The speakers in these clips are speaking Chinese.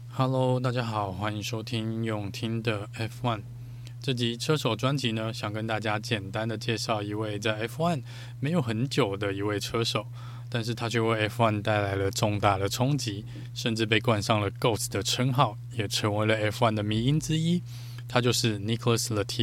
Hello， 大家好，歡迎收聽用聽的 F1。這集車手專輯呢，想跟大家簡單的介紹一位在 F1 沒有很久的一位車手，但是他卻為 F1 帶來了重大的衝擊，甚至被冠上了 GOAT 的稱號，也成為了 F1 的迷因之一。他就是 Nicholas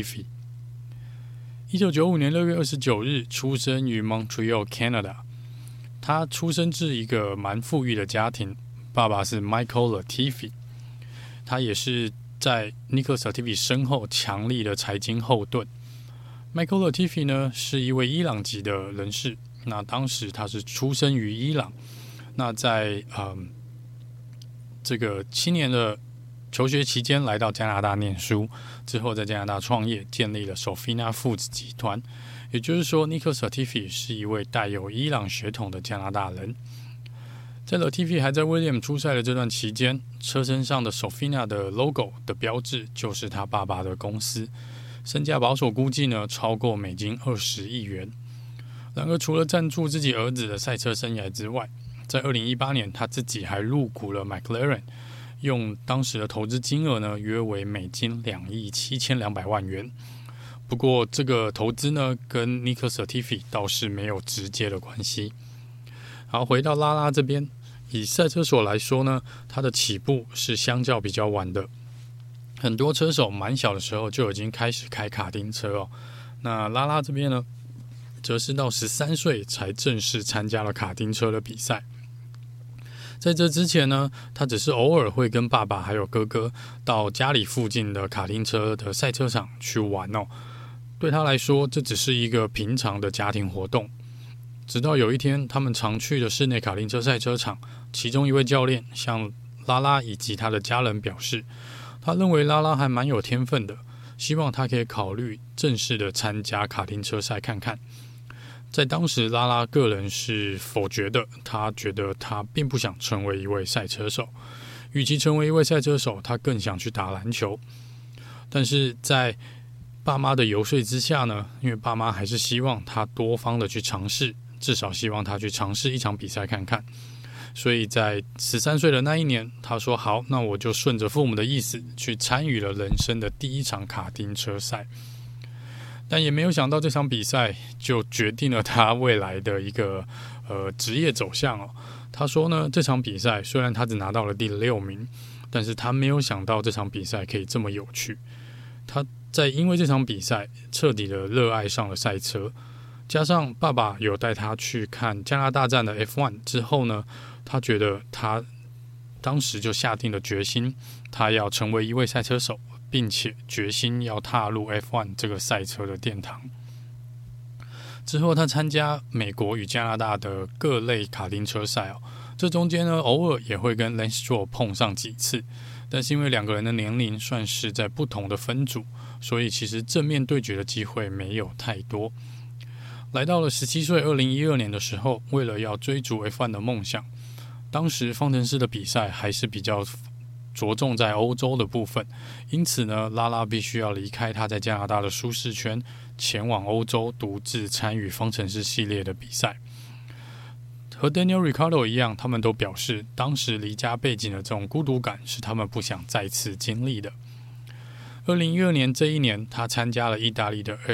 Latifi。1995年6月29日出生於 Montreal，Canada。他出生自一個蠻富裕的家庭，爸爸是 Michael Latifi。他也是在 Nicholas Latifi 身後強力的財經後盾。Michael Latifi 呢，是一位伊朗籍的人士，那當時他是出生於伊朗，那在這個7年的求學期間來到加拿大念書，之後在加拿大創業，建立了 Sofina Foods 集團。也就是說 Nicholas Latifi 是一位帶有伊朗血統的加拿大人。在 Latifi 還在 Williams 出賽的這段期間，車身上的 Sofina 的 logo 的標誌就是他爸爸的公司，身價保守估計呢超過美金20億元。然而，除了贊助自己兒子的賽車生涯之外，在2018年他自己還入股了 McLaren， 用當時的投資金額呢約為美金2億7200萬元。不過，這個投資呢跟 Nicholas Latifi 倒是沒有直接的關係。好，回到拉拉這邊，以賽車手來說呢，他的起步是相較比較晚的。很多車手蠻小的時候就已經開始開卡丁車哦。那拉拉這邊呢，則是到13歲才正式參加了卡丁車的比賽。在這之前呢，他只是偶爾會跟爸爸還有哥哥到家裡附近的卡丁車的賽車場去玩哦。對他來說，這只是一個平常的家庭活動。直到有一天，他們常去的室內卡丁車賽車場，其中一位教練向拉拉以及他的家人表示，他認為拉拉還蠻有天分的，希望他可以考慮正式的參加卡丁車賽看看。在當時，拉拉個人是否決的，他覺得他並不想成為一位賽車手，與其成為一位賽車手，他更想去打籃球。但是在爸媽的遊說之下呢，因為爸媽還是希望他多方的去嘗試，至少希望他去嘗試一場比賽看看，所以在13歲的那一年，他說好，那我就順着父母的意思去參與了人生的第一場卡丁車賽。但也沒有想到這場比賽就決定了他未來的一個職業走向哦。他說呢，這場比賽雖然他只拿到了第6名，但是他沒有想到這場比賽可以這麼有趣。他在因為這場比賽徹底的熱愛上了賽車。加上爸爸有帶他去看加拿大站的 F1 之後呢，他覺得他當時就下定了決心，他要成為一位賽車手，並且決心要踏入 F1 這個賽車的殿堂。之後他參加美國與加拿大的各類卡丁車賽哦，這中間呢偶爾也會跟 Lance Stroll 碰上幾次，但是因為兩個人的年齡算是在不同的分組，所以其實正面對決的機會沒有太多。來到了17歲2012年的時候，為了要追逐 F1 的夢想，當時方程式的比賽還是比較着重在歐洲的部分，因此呢，拉拉必須要離開他在加拿大的舒適圈，前往歐洲獨自參與方程式系列的比賽。和 Daniel Ricciardo 一樣，他們都表示，當時離家背井的這種孤獨感是他們不想再次經歷的。2012年這一年，他參加了意大利的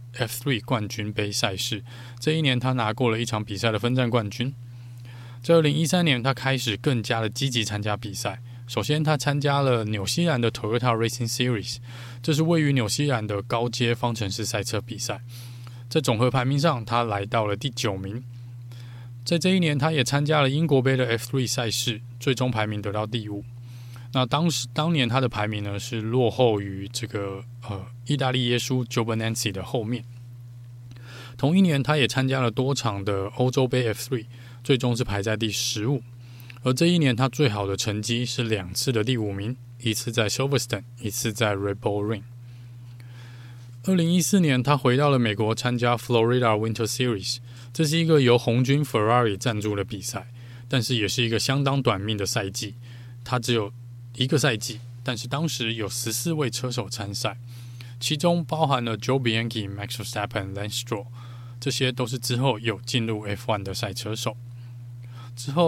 F3 冠軍盃賽事，這一年他拿過了一場比賽的分站冠軍。在2013年，他開始更加的積極參加比賽。首先，他參加了紐西蘭的 Toyota Racing Series， 這是位於紐西蘭的高階方程式賽車比賽。在總和排名上，他來到了第9名。在這一年，他也參加了英國盃的 F3 賽事，最終排名得到第5。那當年他的排名呢是落後於這個意大利耶穌 Giovinazzi 的後面。同一年，他也參加了多場的歐洲盃 F3， 最終是排在第15。而這一年他最好的成績是2次的第5名，一次在 Silverstone， 一次在 Red Bull Ring。2014年，他回到了美國參加 Florida Winter Series， 這是一個由紅軍 Ferrari 贊助的比賽，但是也是一個相當短命的賽季，他只有1個賽季，但是當時有14位車手參賽，其中包含了 Joe Bianchi、Max Verstappen、Lance Stroll， 這些都是之後有進入 F1 的賽車手。之後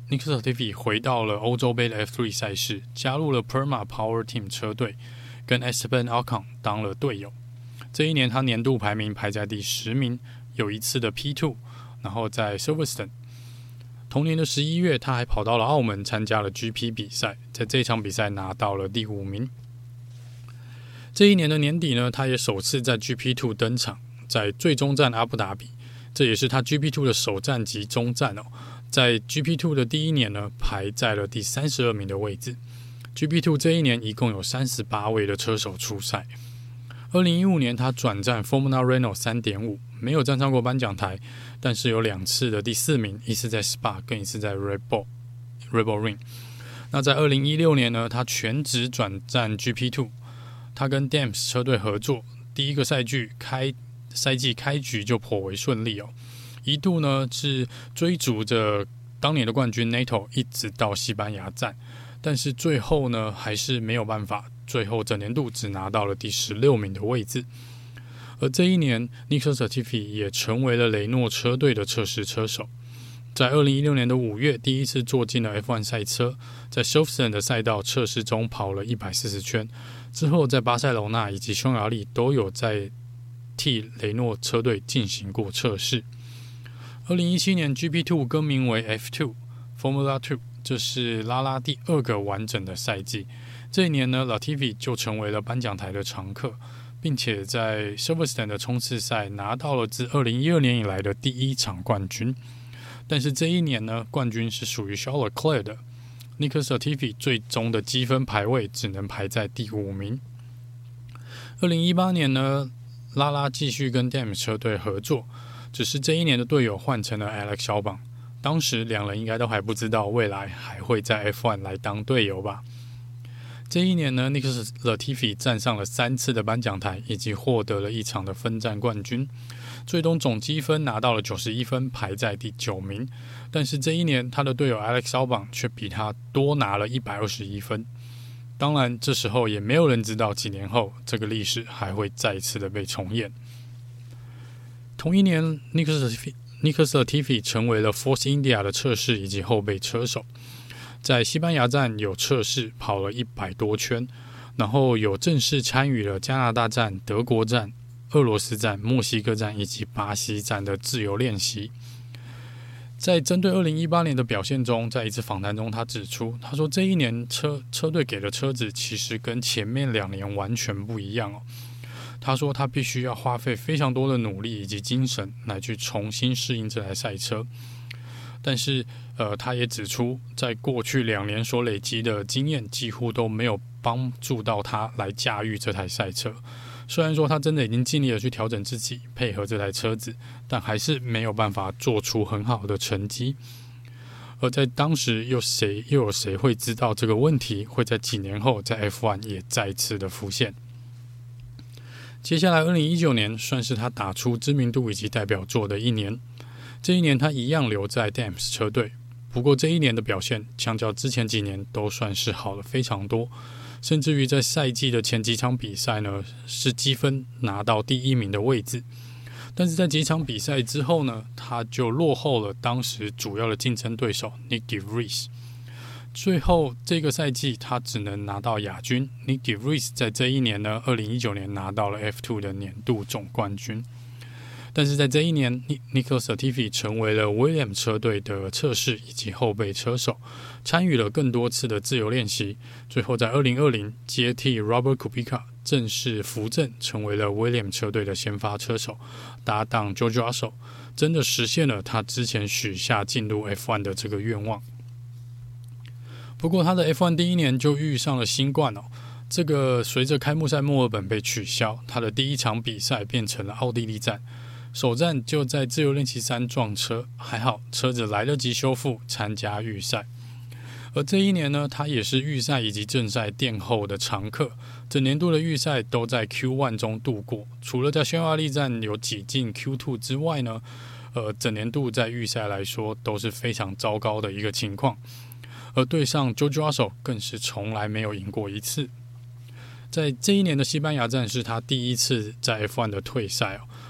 Nick Latifi 回到了歐洲盃的 F3 賽事，加入了 Prema Power Team 車隊，跟 Esteban Ocon 當了隊友。這一年他年度排名排在第10名，有一次的 P2， 然後在 Silverstone。同年的11月，他還跑到了澳門參加了 GP 比賽，在這場比賽拿到了第5名。這一年的年底呢，他也首次在 GP2 登場，在最終站阿布達比，這也是他 GP2 的首站及終站哦。在 GP2 的第一年呢，排在了第32名的位置。GP2 這一年一共有38位的車手出賽。2015年，他轉戰 Formula Renault 3.5， 沒有站上過頒獎台，但是有2次的第4名，一次在 Spa， 跟一次在 Red Bull Ring。那在2016年呢，他全職轉戰 GP2， 他跟 Dams 車隊合作，第一個賽季開局就頗為順利哦，一度呢是追逐着當年的冠軍 Neto 一直到西班牙站，但是最後呢還是沒有辦法。最後整年度只拿到了第16名的位置，而這一年 Nick Latifi 也成為了雷諾車隊的測試車手。在2016年的5月，第一次坐進了 F1 賽車，在 Silverstone 的賽道測試中跑了140圈，之後在巴塞羅那以及匈牙利都有在替雷諾車隊進行過測試。2017年 GP2 更名為 F2 Formula 2， 這是拉拉第2個完整的賽季。這一年呢 Latifi 就成為了頒獎台的常客，並且在 Silverstone 的衝刺賽拿到了自2012年以來的第1場冠軍。但是這一年呢，冠軍是屬於 Charles Leclerc 的。Nick Latifi 最終的積分排位只能排在第5名。2018年呢，拉拉繼續跟 Dams 車隊合作，只是這一年的隊友換成了 Alex Albon。當時兩人應該都還不知道未來還會在 F1 來當隊友吧。這一年呢 Nick Latifi 站上了3次的頒獎台，以及獲得了1場的分站冠軍，最終總積分拿到了91分，排在第9名。但是這一年他的隊友 Alex Albon 卻比他多拿了121分。當然這時候也沒有人知道幾年後這個歷史還會再次的被重演。同一年 Nick Latifi 成為了 Force India 的測試以及後備車手，在西班牙站有測試跑了100多圈，然後有正式參與了加拿大站、德國站、俄羅斯站、墨西哥站以及巴西站的自由練習。在針對2018年的表現中，在一次訪談中他指出，他說這一年車隊給的車子其實跟前面2年完全不一樣哦。他說他必須要花費非常多的努力以及精神來去重新適應這台賽車。但是他也指出，在過去2年所累積的經驗幾乎都沒有幫助到他來駕馭這台賽車。雖然說他真的已經盡力的去調整自己，配合這台車子，但還是沒有辦法做出很好的成績。而在當時又有誰會知道這個問題會在幾年後在 F1 也再次的浮現。接下來2019年算是他打出知名度以及代表作的一年。這一年他一樣留在 Dams 車隊，不過這一年的表現相較之前幾年都算是好了非常多，甚至於在賽季的前幾場比賽呢，是積分拿到第1名的位置。但是在幾場比賽之後呢，他就落後了當時主要的競爭對手 Nick de Vries。最後這個賽季他只能拿到亞軍。Nick de Vries 在這一年呢，2019年拿到了 F2 的年度總冠軍。但是在這一年 Nick Latifi 成為了 Williams 車隊的測試以及後備車手，參與了更多次的自由練習，最後在2020接替 Robert Kubica 正式扶正，成為了 Williams 車隊的先發車手，搭檔 George Russell， 真的實現了他之前許下進入 F1 的這個願望。不過他的 F1 第一年就遇上了新冠哦，這個隨着開幕賽墨爾本被取消，他的第一場比賽變成了奧地利站。首站就在自由練習3撞車，還好車子來得及修復，參加預賽。而這一年呢，他也是預賽以及正賽殿後的常客，整年度的預賽都在 Q1 中度過，除了在匈牙利站有擠進 Q2 之外呢，整年度在預賽來說都是非常糟糕的一個情況。而對上 George Russell 更是從來沒有贏過一次。在這一年的西班牙站是他第一次在 F1 的退賽哦。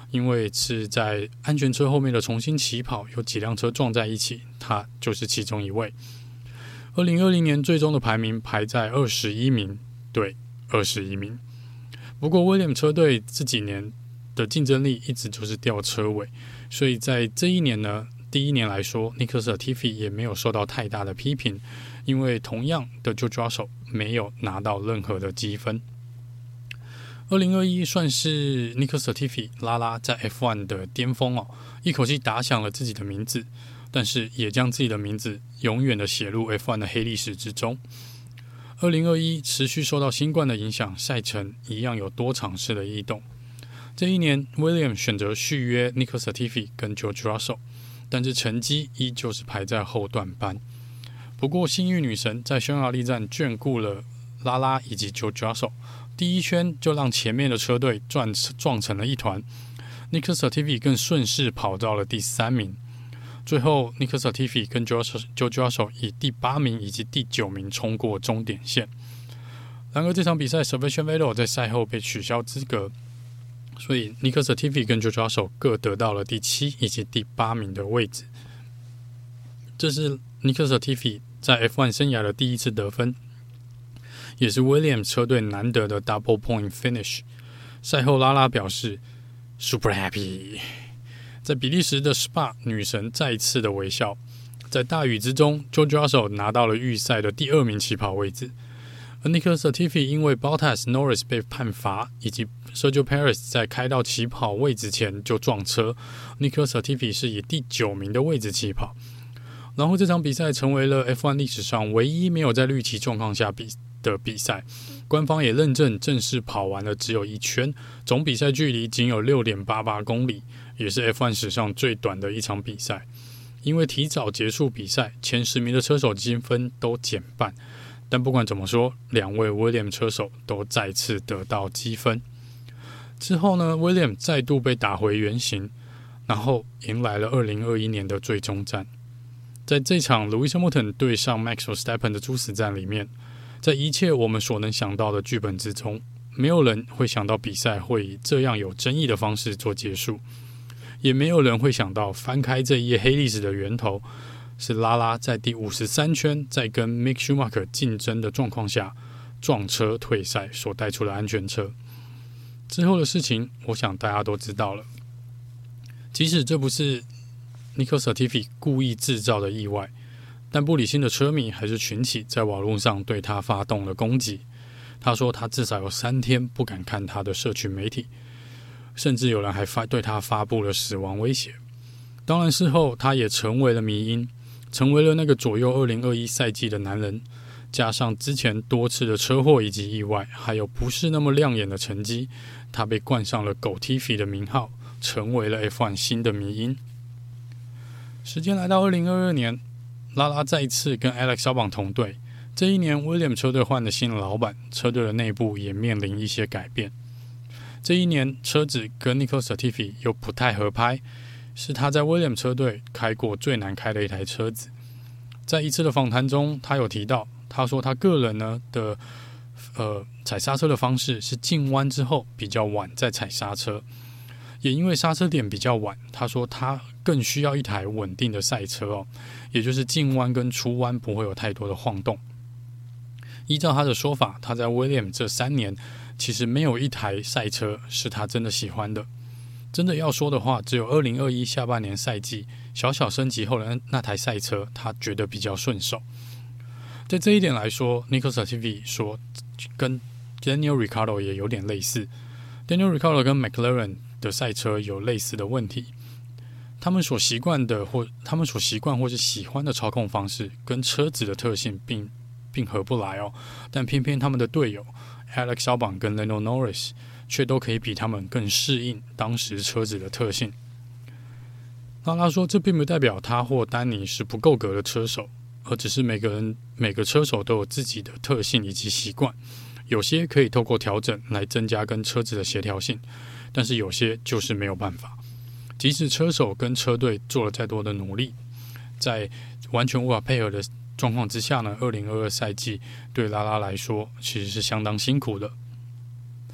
因為是在安全車後面的重新起跑，有幾輛車撞在一起，他就是其中一位。2020年最終的排名排在21名，對，21名。不過 Williams 車隊這幾年的競爭力一直就是掉車尾，所以在這一年呢，第一年來說 Nicholas Latifi 也沒有受到太大的批評，因為同樣的 George Russell 沒有拿到任何的積分。2021算是 Nicholas Latifi 拉拉在 F1 的巔峰哦，一口氣打響了自己的名字，但是也將自己的名字永遠的寫入 F1 的黑歷史之中。2021持續受到新冠的影響，賽程一樣有多場次的異動。這一年 Williams 選擇續約 Nicholas Latifi 跟 George Russell， 但是成績依舊是排在後段班。不過幸運女神在匈牙利站眷顧了拉拉以及 George Russell， 第一圈就讓前面的車隊撞成了一團。Nicholas Latifi 更順勢跑到了第3名。最後 Nicholas Latifi 跟 George Russell 以第8名以及第9名衝過終點線。然而這場比賽 Sebastian Vettel 在賽後被取消資格，所以 Nicholas Latifi 跟 George Russell 各得到了第7以及第8名的位置。這是 Nicholas Latifi 在 F1 生涯的第一次得分，也是 Williams 車隊難得的 Double Point Finish。賽後拉拉表示 Super Happy。在比利時的 Spa， 女神再一次的微笑。在大雨之中 George Russell 拿到了預賽的第2名起跑位置，而 Nicholas Latifi 因為 Bottas、Norris 被判罰，以及 Sergio Perez 在開到起跑位置前就撞車， Nicholas Latifi 是以第9名的位置起跑。然後這場比賽成為了 F1 歷史上唯一沒有在綠旗狀況下的比賽，官方也認證正式跑完了只有1圈，總比賽距離僅有 6.88 公里，也是 F1 史上最短的一場比賽。因為提早結束比賽，前10名的車手積分都減半，但不管怎麼說，2位 Williams 車手都再次得到積分。之後呢 Williams 再度被打回原形，然後迎來了2021年的最終戰。在這場 Lewis Hamilton 對上 Max Verstappen 的殊死戰裡面，在一切我們所能想到的劇本之中，沒有人會想到比賽會以這樣有爭議的方式做結束，也沒有人會想到翻開這一頁黑歷史的源頭是拉拉在第53圈在跟 Mick Schumacher 競爭的狀況下撞車退賽所帶出的安全車。之後的事情我想大家都知道了，即使這不是Nicholas Latifi 故意製造的意外，但不理性的車迷還是群起在網絡上對他發動了攻擊。他說他至少有3天不敢看他的社群媒體，甚至有人還對他發布了死亡威脅。當然事後他也成為了迷因，成為了那個左右2021賽季的男人，加上之前多次的車禍以及意外，還有不是那麼亮眼的成績，他被冠上了狗 Tiffy 的名號，成為了 F1 新的迷因。時間來到2022年，拉拉再一次跟 Alex Albon 同隊。這一年 Williams 車隊換了新的老闆，車隊的內部也面臨一些改變。這一年車子跟 Nicholas Latifi 又不太合拍，是他在 Williams 車隊開過最難開的一台車子。在一次的訪談中，他有提到，他說他個人呢的踩剎車的方式是進彎之後比較晚再踩剎車，也因為剎車點比較晚，他說他更需要一台穩定的賽車哦，也就是進彎跟出彎不會有太多的晃動。依照他的說法，他在 Williams 這3年其實沒有一台賽車是他真的喜歡的。真的要說的話，只有2021下半年賽季小小升級後的那台賽車，他覺得比較順手。在這一點來說 Nicholas Latifi 說跟 Daniel Ricciardo 也有點類似。Daniel Ricciardo 跟 McLaren 的賽車有類似的問題，他們所習慣或是喜歡的操控方式跟車子的特性並合不來哦，但偏偏他們的隊友 Alex Albon 跟 Lando Norris 卻都可以比他們更適應當時車子的特性。拉拉說，這並不代表他或丹尼是不夠格的車手，而只是每個車手都有自己的特性以及習慣，有些可以透過調整來增加跟車子的協調性，但是有些就是沒有辦法。即使車手跟車隊做了再多的努力，在完全無法配合的狀況之下呢，2022賽季對拉拉來說其實是相當辛苦的。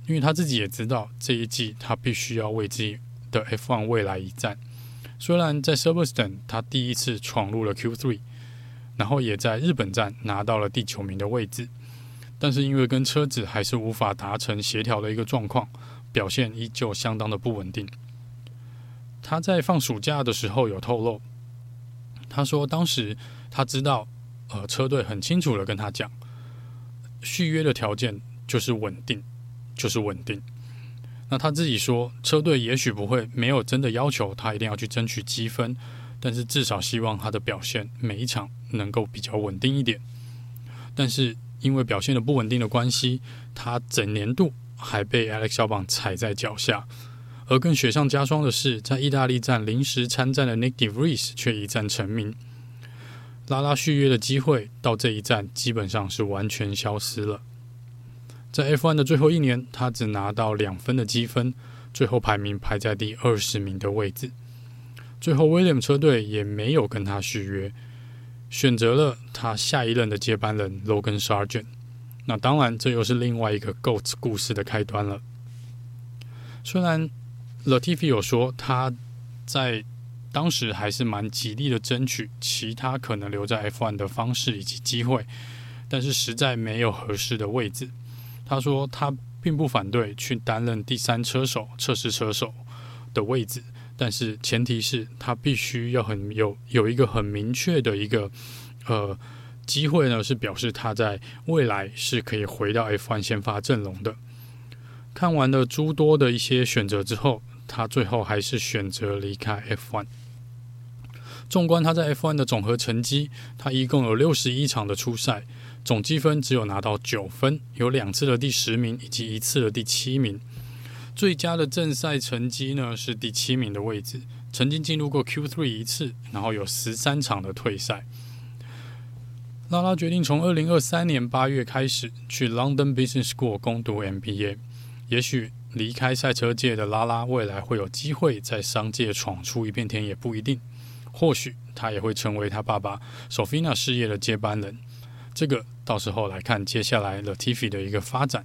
因為他自己也知道這一季他必須要為自己的 F1 未來一戰。雖然在 Silverstone 他第一次闖入了 Q3， 然後也在日本站拿到了第9名的位置，但是因為跟車子還是無法達成協調的一個狀況，表現依舊相當的不穩定。他在放暑假的時候有透露，他說當時他知道車隊很清楚的跟他講，續約的條件就是穩定，就是穩定。那他自己說，車隊也許不會沒有真的要求他一定要去爭取積分，但是至少希望他的表現每一場能夠比較穩定一點。但是因為表現的不穩定的關係，他整年度還被 Alex Albon 踩在腳下。而更雪上加霜的是，在意大利站臨時參戰的 Nyck de Vries 卻一戰成名。拉拉續約的機會到這一站基本上是完全消失了。在 F1 的最後一年，他只拿到2分的積分，最後排名排在第20名的位置。最後 Williams 車隊也沒有跟他續約，選擇了他下一任的接班人 Logan Sargent。那當然，這又是另外一個 GOAT 故事的開端了。雖然 Latifi 有說他在當時還是蠻極力的爭取其他可能留在 F1 的方式以及機會，但是實在沒有合適的位置。他說他並不反對去擔任第3車手、測試車手的位置，但是前提是他必須要有一個很明確的一個機會呢，是表示他在未來是可以回到 F1 先發陣容的。看完了諸多的一些選擇之後，他最後還是選擇離開 F1。縱觀他在 F1 的總和成績，他一共有61場的出賽，總積分只有拿到9分，有2次的第10名以及1次的第7名。最佳的正賽成績呢是第7名的位置，曾經進入過 Q3 1次，然後有13場的退賽。拉拉決定從2023年8月開始去 London Business School 攻讀 MBA。也許離開賽車界的拉拉未來會有機會在商界闖出一片天也不一定，或許他也會成為他爸爸 Sofina 事業的接班人。這個到時候來看接下來 Latifi 的一個發展。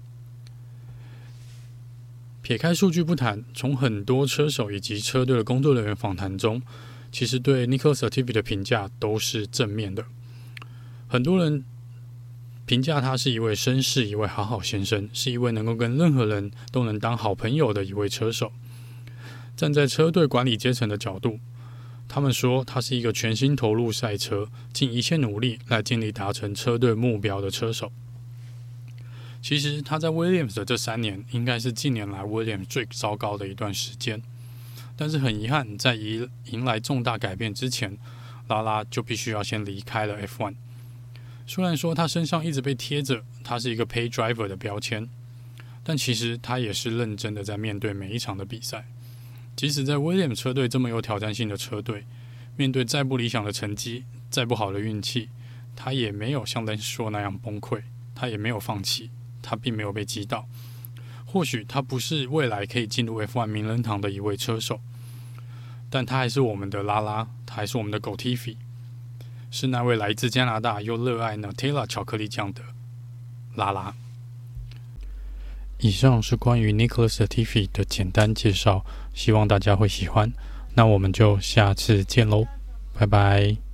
撇開數據不談，從很多車手以及車隊的工作人員訪談中，其實對 Nicholas Latifi 的評價都是正面的。很多人評價他是一位紳士，一位好好先生，是一位能夠跟任何人都能當好朋友的一位車手。站在車隊管理階層的角度，他們說他是一個全心投入賽車，盡一切努力來盡力達成車隊目標的車手。其實他在 Williams 的這3年，應該是近年來 Williams 最糟糕的一段時間。但是很遺憾，在迎來重大改變之前，拉拉就必須要先離開了 F1。雖然說他身上一直被貼着他是一個 pay driver 的標籤，但其實他也是認真的在面對每一場的比賽。即使在 Williams 車隊這麼有挑戰性的車隊，面對再不理想的成績，再不好的運氣，他也沒有像Lance Stroll那樣崩潰，他也沒有放棄，他並沒有被擊倒。或許他不是未來可以進入 F1 名人堂的一位車手，但他還是我們的拉拉，他還是我們的狗 Latifi，是那位來自加拿大又熱愛 Nutella 巧克力醬的拉拉。以上是關於 Nicholas Latifi 的簡單介紹，希望大家會喜歡。那我們就下次見嘍，拜拜。